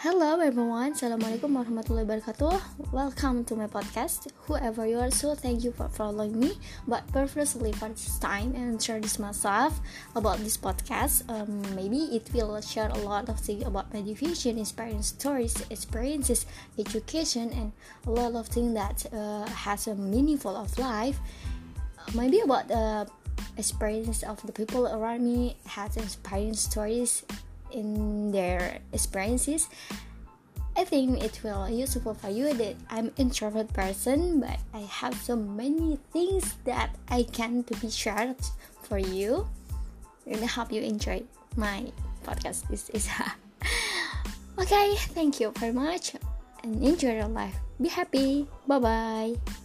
Hello everyone, Assalamualaikum warahmatullahi wabarakatuh. Welcome to my podcast. Whoever you are, so thank you for following me. But previously for this time and introduce myself about this podcast. Maybe it will share a lot of things about motivation, inspiring stories, experiences, education, and a lot of things that has a meaningful of life. Maybe about the experience of the people around me, has inspiring stories in their experiences. I think it will useful for you that I'm introvert person, but I have so many things that I can to be shared for you. And I hope you enjoy my podcast. This is okay. Thank you very much and enjoy your life. Be happy. Bye bye.